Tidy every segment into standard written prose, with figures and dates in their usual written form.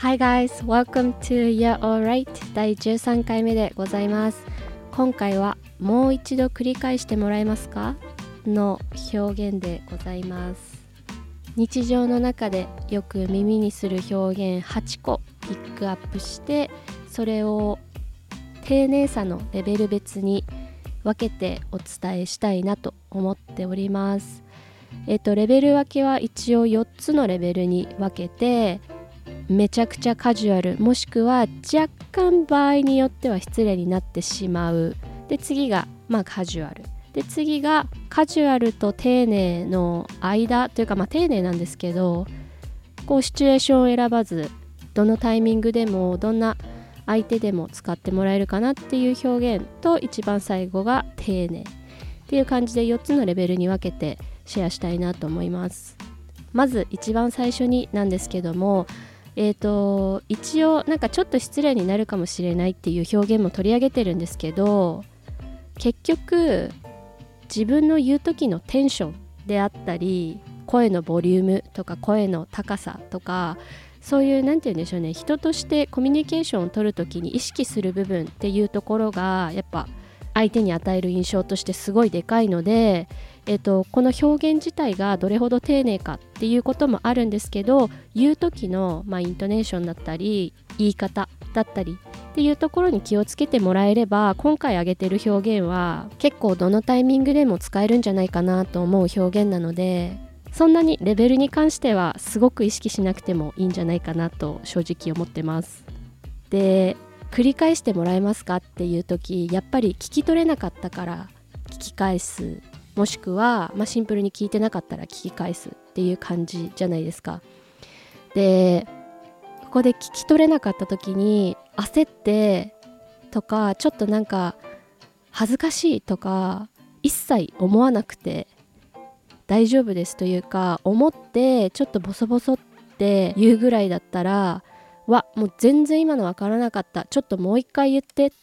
Hi guys, welcome to You're Alright 第13回目でございます。今回はもう一度繰り返してもらえますかの表現でございます。日常の中でよく耳にする表現8個ピックアップして、それを丁寧さのレベル別に分けてお伝えしたいなと思っております。レベル分けは一応4つのレベルに分けて、めちゃくちゃカジュアル、もしくは若干場合によっては失礼になってしまう。で次がカジュアルで、次がカジュアルと丁寧の間というか、丁寧なんですけど、こうシチュエーションを選ばず、どのタイミングでもどんな相手でも使ってもらえるかなっていう表現と、一番最後が丁寧っていう感じで4つのレベルに分けてシェアしたいなと思います。まず一番最初になんですけども、一応ちょっと失礼になるかもしれないっていう表現も取り上げてるんですけど、結局自分の言う時のテンションであったり、声のボリュームとか声の高さとか、そういうなんて言うんでしょうね、人としてコミュニケーションを取る時に意識する部分っていうところがやっぱ相手に与える印象としてすごいでかいので、この表現自体がどれほど丁寧かっていうこともあるんですけど、言う時の、イントネーションだったり言い方だったりっていうところに気をつけてもらえれば、今回挙げてる表現は結構どのタイミングでも使えるんじゃないかなと思う表現なので、そんなにレベルに関してはすごく意識しなくてもいいんじゃないかなと正直思ってます。で、繰り返してもらえますかっていう時、やっぱり聞き取れなかったから聞き返す、もしくは、シンプルに聞いてなかったら聞き返すっていう感じじゃないですか。で、ここで聞き取れなかった時に焦ってとか、ちょっと恥ずかしいとか一切思わなくて大丈夫ですというか、思ってちょっとボソボソって言うぐらいだったら、もう全然今の分からなかった、ちょっともう一回言ってって、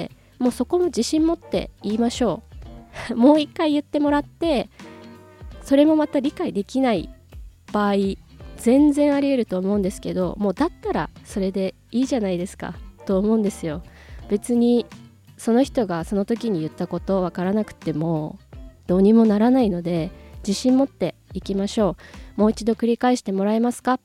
もうそこも自信持って言いましょう。もう一回言ってもらって、それもまた理解できない場合全然あり得ると思うんですけど、もうだったらそれでいいじゃないですかと思うんですよ。別にその人がその時に言ったこと分からなくてもどうにもならないので、自信持っていきましょう。もう一度繰り返してもらえますかって、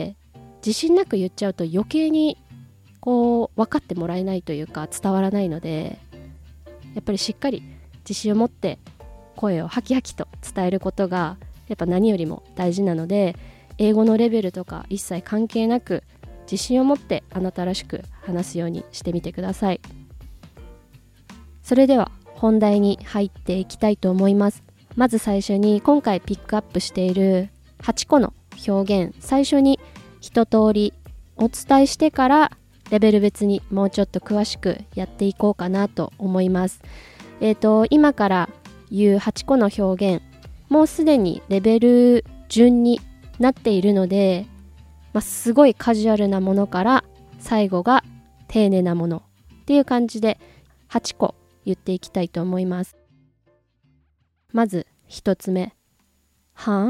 自信なく言っちゃうと余計にこう分かってもらえないというか、伝わらないので、やっぱりしっかり自信を持って声をハキハキと伝えることがやっぱ何よりも大事なので、英語のレベルとか一切関係なく自信を持ってあなたらしく話すようにしてみてください。それでは本題に入っていきたいと思います。まず最初に今回ピックアップしている8個の表現、最初に一通りお伝えしてからレベル別にもうちょっと詳しくやっていこうかなと思います。今から言う8個の表現、もうすでにレベル順になっているので、すごいカジュアルなものから最後が丁寧なものっていう感じで8個言っていきたいと思います。まず1つ目、は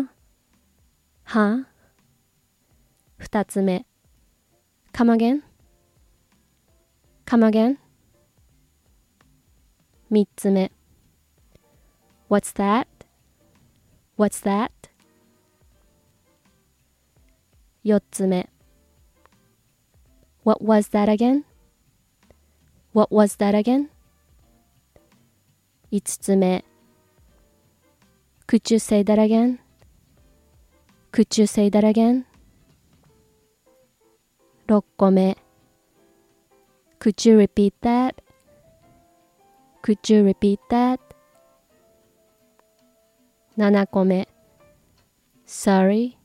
2つ目、come again 3つ目、What's that? 4つ目、What was that again? 5つ目、Could you say that again? 6個目、Could you repeat that? 7個目、Sorry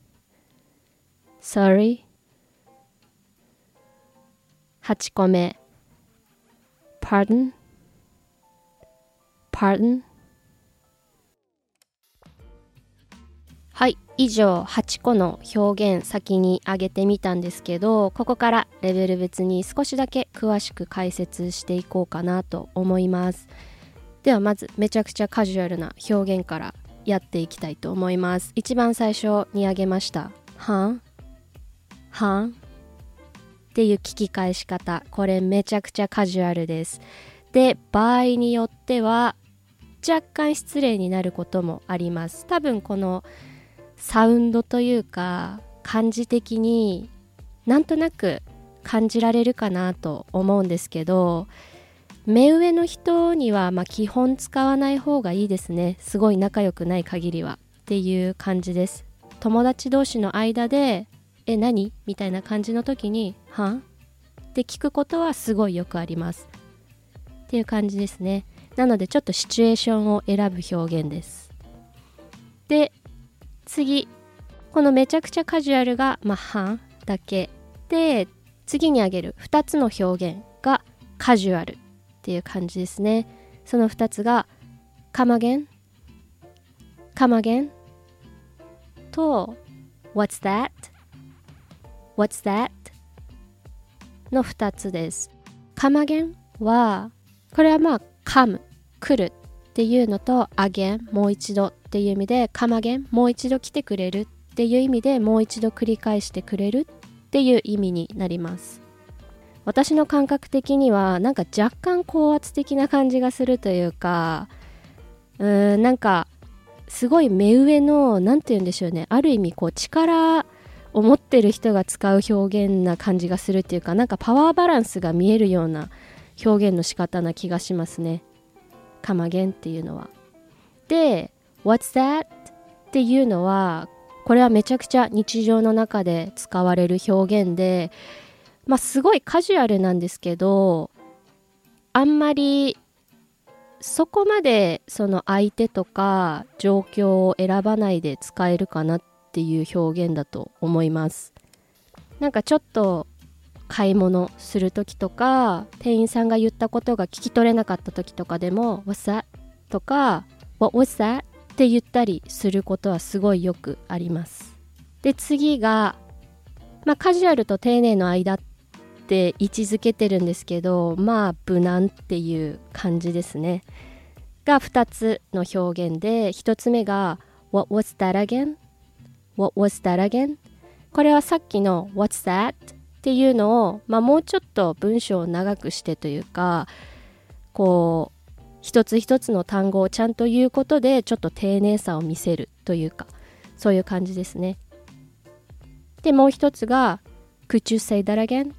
8個目、Pardon はい、以上8個の表現先に挙げてみたんですけど、ここからレベル別に少しだけ詳しく解説していこうかなと思います。ではまずめちゃくちゃカジュアルな表現からやっていきたいと思います。一番最初に挙げましたはんっていう聞き返し方、これめちゃくちゃカジュアルです。で、場合によっては若干失礼になることもあります。多分このサウンドというか感じ的になんとなく感じられるかなと思うんですけど、目上の人には基本使わない方がいいですね。すごい仲良くない限りはっていう感じです。友達同士の間で何みたいな感じの時にはって聞くことはすごいよくありますっていう感じですね。なのでちょっとシチュエーションを選ぶ表現です。で、次、このめちゃくちゃカジュアルがはだけで、次に挙げる2つの表現がカジュアルっていう感じですね。その2つがcome againと What's that の2つです。come again はこれはcome 来るっていうのと again もう一度っていう意味で come again もう一度来てくれるっていう意味でもう一度繰り返してくれるっていう意味になります。私の感覚的にはなんか若干高圧的な感じがするというか、なんかすごい目上のなんて言うんでしょうね、ある意味力を持ってる人が使う表現な感じがするっていうか、なんかパワーバランスが見えるような表現の仕方な気がしますね。come againっていうのは。で、What's that っていうのはこれはめちゃくちゃ日常の中で使われる表現で、すごいカジュアルなんですけど、あんまりそこまでその相手とか状況を選ばないで使えるかなっていう表現だと思います。なんかちょっと買い物する時とか、店員さんが言ったことが聞き取れなかった時とかでも What's that? とか What was that? って言ったりすることはすごいよくあります。で、次がカジュアルと丁寧の間って位置づけてるんですけど、無難っていう感じですねが2つの表現で、1つ目が What was that again? What was that again? これはさっきの What's that? っていうのを、もうちょっと文章を長くしてというか、一つ一つの単語をちゃんと言うことでちょっと丁寧さを見せるというか、そういう感じですね。で、もう一つが Could you say that again?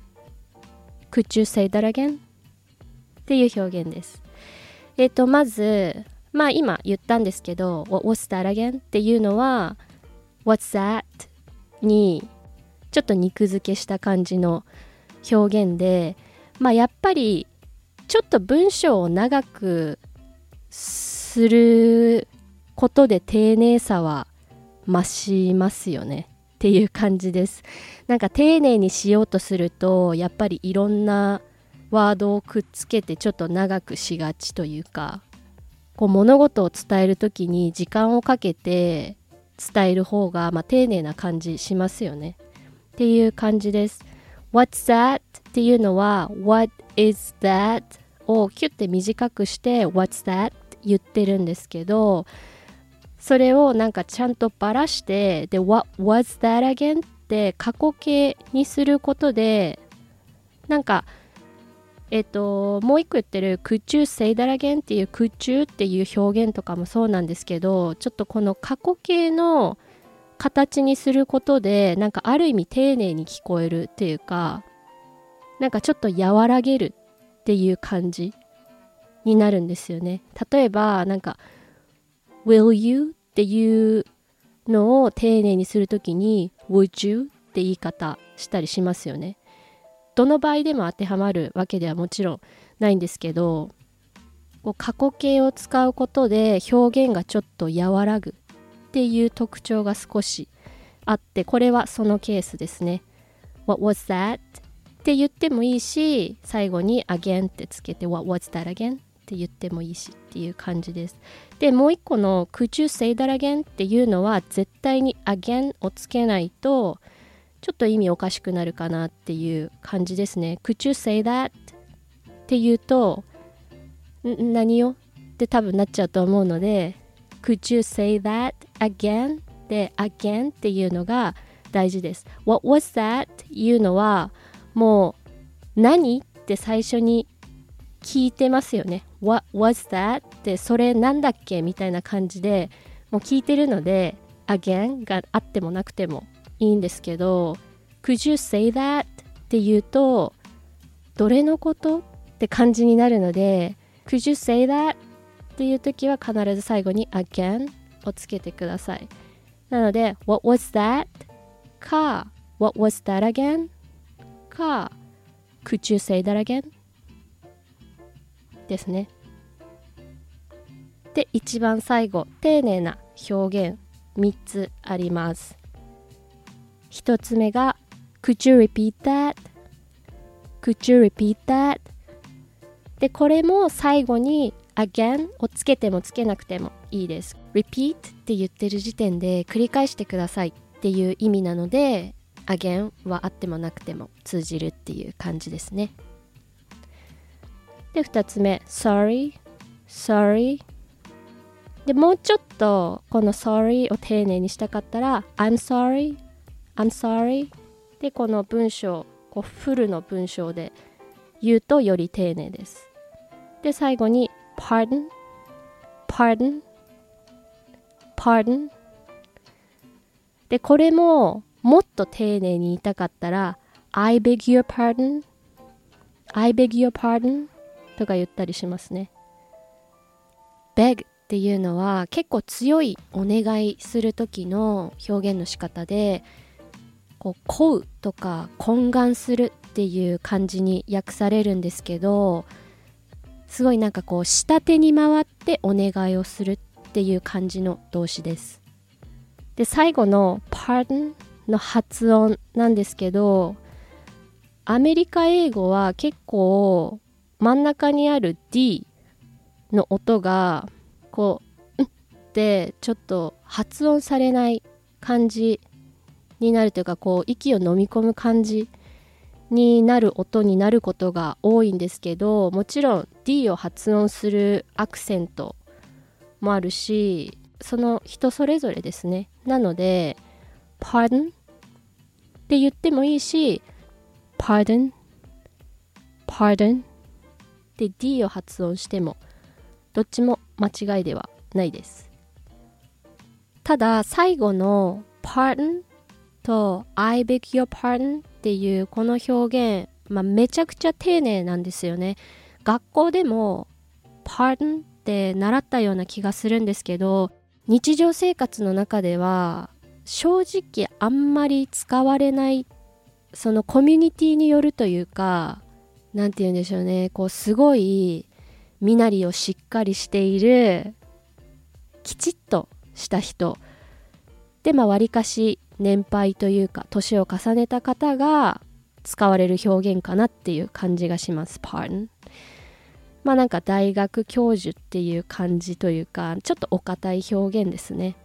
Could you say that again? っていう表現です。まず今言ったんですけど What was that again? っていうのは What's that? にちょっと肉付けした感じの表現で、やっぱりちょっと文章を長くすることで丁寧さは増しますよねっていう感じです。なんか丁寧にしようとするとやっぱりいろんなワードをくっつけてちょっと長くしがちというか、物事を伝えるときに時間をかけて伝える方が丁寧な感じしますよねっていう感じです。What's that? っていうのは What is that? をキュッて短くして What's that? って言ってるんですけど、それをなんかちゃんとばらして、で What was that again? って過去形にすることで、なんかもう一個言ってる Could you say that again? っていう Could you っていう表現とかもそうなんですけど、ちょっとこの過去形の形にすることでなんかある意味丁寧に聞こえるっていうか、なんかちょっと和らげるっていう感じになるんですよね。例えばなんか Will you っていうのを丁寧にするときに Would you って言い方したりしますよね。どの場合でも当てはまるわけではもちろんないんですけど、過去形を使うことで表現がちょっと和らぐっていう特徴が少しあって、これはそのケースですね。What was that? って言ってもいいし、最後に again ってつけて What was that again? って言ってもいいしっていう感じです。で、もう一個の Could you say that again? っていうのは絶対に again をつけないとちょっと意味おかしくなるかなっていう感じですね。Could you say that? って言うと何よって多分なっちゃうと思うので、Could you say that again? で again っていうのが大事です。What was that? いうのはもう何って最初に聞いてますよね。 What was that? ってそれなんだっけみたいな感じでもう聞いてるので again があってもなくてもいいんですけど、 Could you say that? って言うとどれのことって感じになるので Could you say that? っていう時は必ず最後に again をつけてください。なので What was that? か What was that again? か Could you say that again? ですね。で、一番最後、丁寧な表現3つあります。1つ目が Could you repeat that? Could you repeat that? で、これも最後に again をつけてもつけなくてもいいです。repeat って言ってる時点で繰り返してくださいっていう意味なので again はあってもなくても通じるっていう感じですね。で、2つ目 sorry sorry で、もうちょっとこの sorry を丁寧にしたかったら I'm sorry I'm sorry で、この文章こうフルの文章で言うとより丁寧です。で、最後に pardon pardon pardon で、これももっと丁寧に言いたかったら I beg your pardon I beg your pardon とか言ったりしますね。 beg っていうのは結構強いお願いする時の表現の仕方で、こう請うとか懇願するっていう感じに訳されるんですけど、すごいなんかこう下手に回ってお願いをするっていう感じの動詞です。で、最後の pardon の発音なんですけど、アメリカ英語は結構真ん中にある D の音がこうってちょっと発音されない感じになるというか、こう息を飲み込む感じになる音になることが多いんですけど、もちろん D を発音するアクセントもあるし、その人それぞれですね。なので pardon って言ってもいいし pardon pardon で D を発音してもどっちも間違いではないです。ただ最後の pardon と I beg your pardon っていうこの表現、めちゃくちゃ丁寧なんですよね。学校でも pardon って習ったような気がするんですけど、日常生活の中では正直あんまり使われない、そのコミュニティによるというか、なんて言うんでしょうね、こうすごい身なりをしっかりしているきちっとした人で、わりかし年配というか年を重ねた方が使われる表現かなっていう感じがします。 Pardon なんか大学教授っていう感じというか、ちょっとお堅い表現ですね。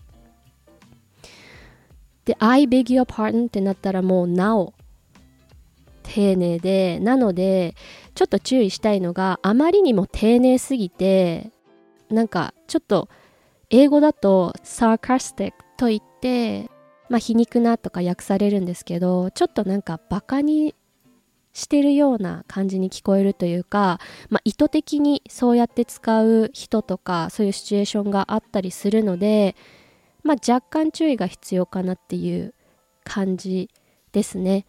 で I beg your pardon ってなったらもうなお丁寧で、なのでちょっと注意したいのが、あまりにも丁寧すぎてなんかちょっと英語だと sarcastic と言って皮肉なとか訳されるんですけど、ちょっとなんかバカにしてるような感じに聞こえるというか、意図的にそうやって使う人とかそういうシチュエーションがあったりするので、若干注意が必要かなっていう感じですね。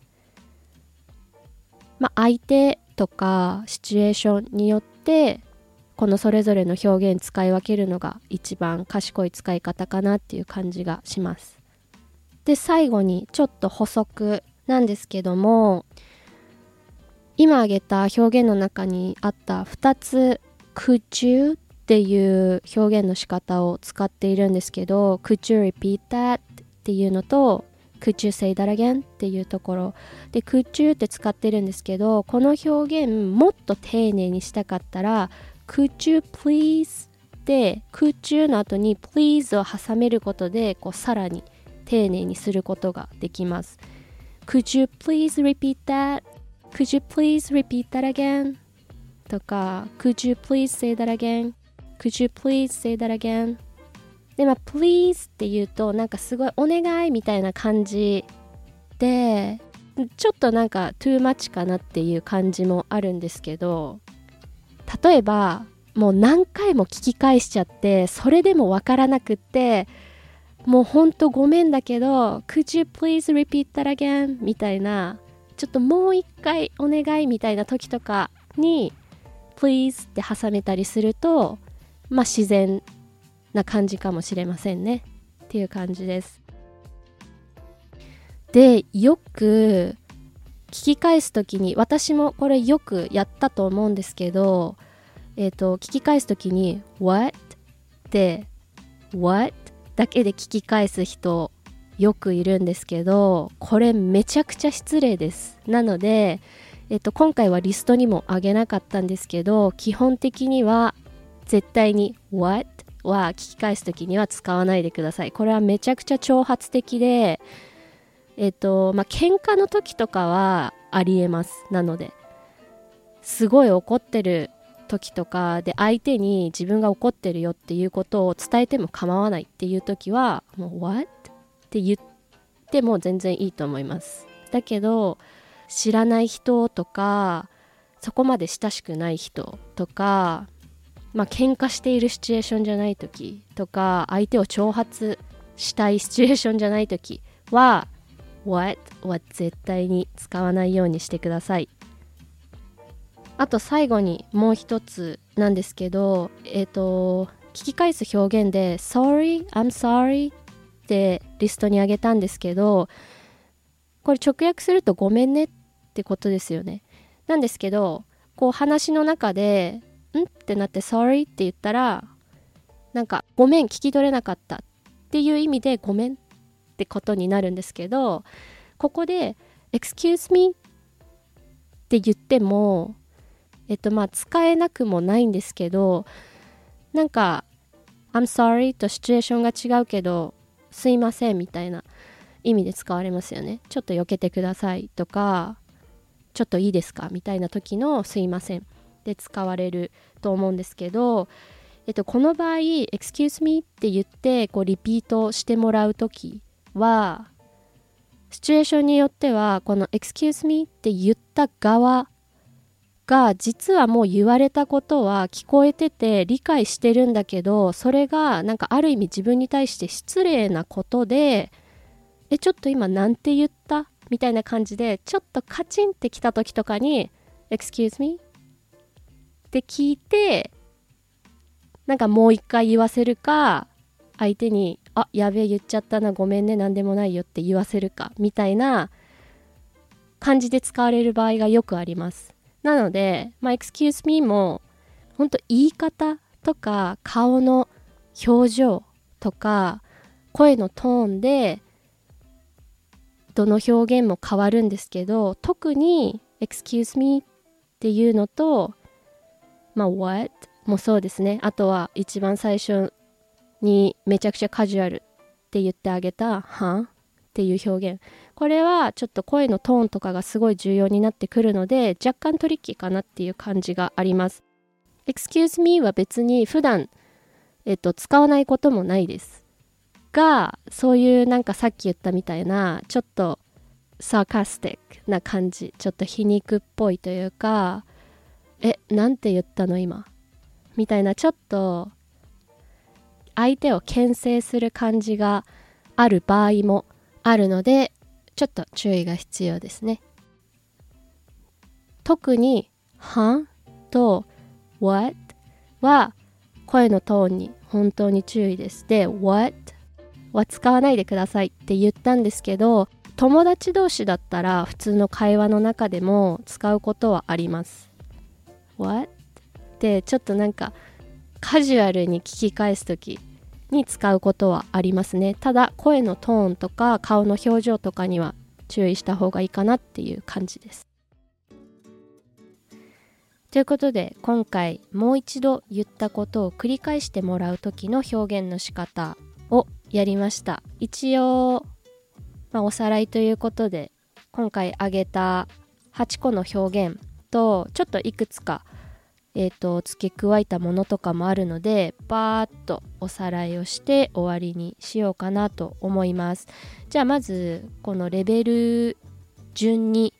相手とかシチュエーションによってこのそれぞれの表現使い分けるのが一番賢い使い方かなっていう感じがします。で、最後にちょっと補足なんですけども、今挙げた表現の中にあった2つ Could you っていう表現の仕方を使っているんですけど、 Could you repeat that っていうのと Could you say that again っていうところで Could you って使ってるんですけど、この表現もっと丁寧にしたかったら Could you please で Could you の後に please を挟めることでこうさらに丁寧にすることができます。 Could you please repeat that? Could you please repeat that again? とか Could you please say that again? Could you please say that again? でplease って言うとなんかすごいお願いみたいな感じでちょっとなんかトゥーマッチかなっていう感じもあるんですけど、例えばもう何回も聞き返しちゃってそれでもわからなくって、もうほんとごめんだけど Could you please repeat that again? みたいな、ちょっともう一回お願いみたいな時とかに Please って挟めたりすると、まあ自然な感じかもしれませんねっていう感じです。で、よく聞き返すときに、私もこれよくやったと思うんですけど、聞き返すときに What? ってWhat? だけで聞き返す人よくいるんですけど、これめちゃくちゃ失礼です。なので、今回はリストにもあげなかったんですけど、基本的には絶対に What? は聞き返すときには使わないでください。これはめちゃくちゃ挑発的で、喧嘩の時とかはありえます。なので、すごい怒ってる時とかで相手に自分が怒ってるよっていうことを伝えても構わないっていう時はもう What? って言っても全然いいと思います。だけど知らない人とかそこまで親しくない人とか、喧嘩しているシチュエーションじゃない時とか、相手を挑発したいシチュエーションじゃない時は What? は絶対に使わないようにしてください。あと最後にもう一つなんですけど、聞き返す表現で Sorry, I'm sorry ってリストにあげたんですけど、これ直訳するとごめんねってことですよね。なんですけど、こう話の中でんってなって Sorry って言ったら、なんかごめん聞き取れなかったっていう意味でごめんってことになるんですけど、ここで Excuse me って言っても使えなくもないんですけど、なんか I'm sorry とシチュエーションが違うけどすいませんみたいな意味で使われますよね。ちょっと避けてくださいとか、ちょっといいですかみたいな時のすいませんで使われると思うんですけど、この場合 Excuse me って言ってこうリピートしてもらう時は、シチュエーションによってはこの Excuse me って言った側が実はもう言われたことは聞こえてて理解してるんだけど、それがなんかある意味自分に対して失礼なことで、ちょっと今なんて言ったみたいな感じでちょっとカチンってきた時とかに Excuse me って聞いて、なんかもう一回言わせるか、相手にやべえ言っちゃったなごめんねなんでもないよって言わせるかみたいな感じで使われる場合がよくあります。なので、excuse me も本当言い方とか顔の表情とか声のトーンでどの表現も変わるんですけど、特に excuse me っていうのと、what もそうですね。あとは一番最初にめちゃくちゃカジュアルって言ってあげたっていう表現、これはちょっと声のトーンとかがすごい重要になってくるので、若干トリッキーかなっていう感じがあります。 Excuse me は別に普段、使わないこともないですが、そういうなんかさっき言ったみたいなちょっとサーカスティックな感じ、ちょっと皮肉っぽいというか、なんて言ったの今みたいな、ちょっと相手を牽制する感じがある場合もあるので、ちょっと注意が必要ですね。特にと what は声のトーンに本当に注意です。で what は使わないでくださいって言ったんですけど、友達同士だったら普通の会話の中でも使うことはあります。 what ってちょっとなんかカジュアルに聞き返すときに使うことはありますね。ただ声のトーンとか顔の表情とかには注意した方がいいかなっていう感じです。ということで、今回もう一度言ったことを繰り返してもらう時の表現の仕方をやりました。一応、おさらいということで、今回挙げた8個の表現とちょっといくつか付け加えたものとかもあるので、バーッとおさらいをして終わりにしようかなと思います。じゃあまずこのレベル順に、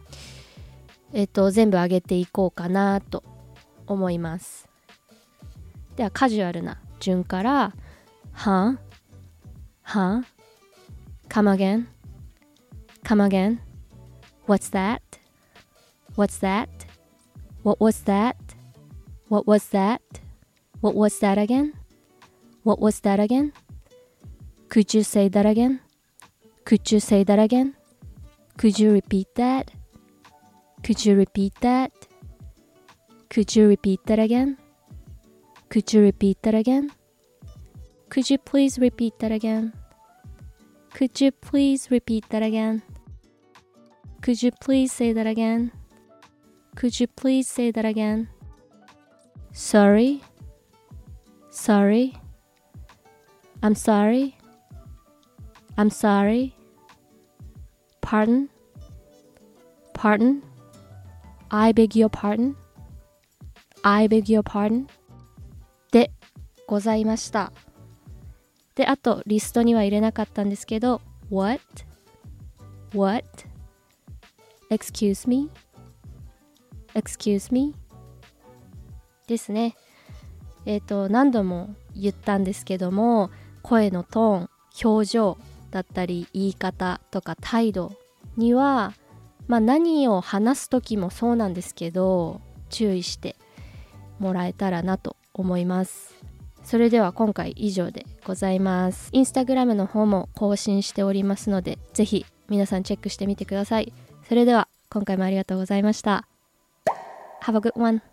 全部上げていこうかなと思います。ではカジュアルな順から、Huh? Huh? Come again? Come again? What's that? What's that? What was that? What was that? What was that again? What was that again? Could you say that again? Could you say that again? Could you repeat that? Could you repeat that? Could you repeat that again? Could you repeat that again? Could you please repeat that again? Could you please repeat that again? Could you please say that again? Could you please say that again? Sorry. Sorry. I'm sorry. I'm sorry. Pardon. Pardon. I beg your pardon. I beg your pardon. でございました。で、あとリストには入れなかったんですけど、What? What? Excuse me? Excuse me? ですね。何度も言ったんですけども、声のトーン、表情だったり言い方とか態度には、何を話す時もそうなんですけど、注意してもらえたらなと思います。それでは今回以上でございます。インスタグラムの方も更新しておりますので、ぜひ皆さんチェックしてみてください。それでは今回もありがとうございました。Have a good one!